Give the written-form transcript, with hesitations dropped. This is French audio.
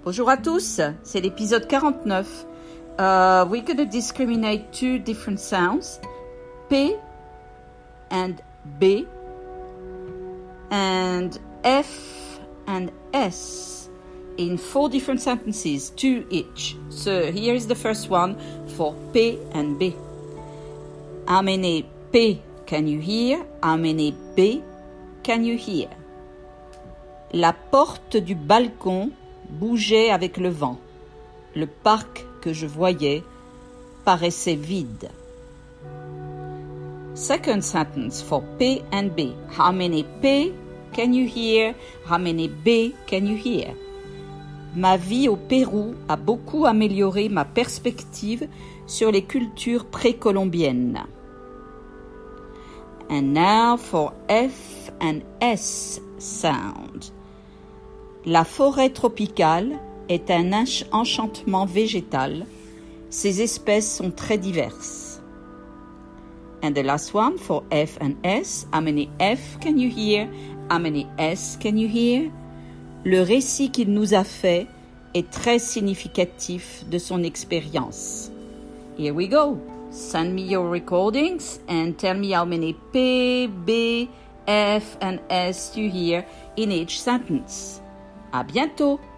Bonjour à tous, c'est l'épisode 49. We're going to discriminate two different sounds, P and B, and F and S, in 4 different sentences, 2 each. So here is the first one for P and B. How many P can you hear? How many B can you hear? La porte du balcon bougeait avec le vent. Le parc que je voyais paraissait vide. Second sentence for P and B. How many P can you hear? How many B can you hear? Ma vie au Pérou a beaucoup amélioré ma perspective sur les cultures précolombiennes. And now for F and S sound. La forêt tropicale est un enchantement végétal. Ses espèces sont très diverses. And the last one for F and S. How many F can you hear? How many S can you hear? Le récit qu'il nous a fait est très significatif de son expérience. Here we go. Send me your recordings and tell me how many P, B, F and S you hear in each sentence. À bientôt!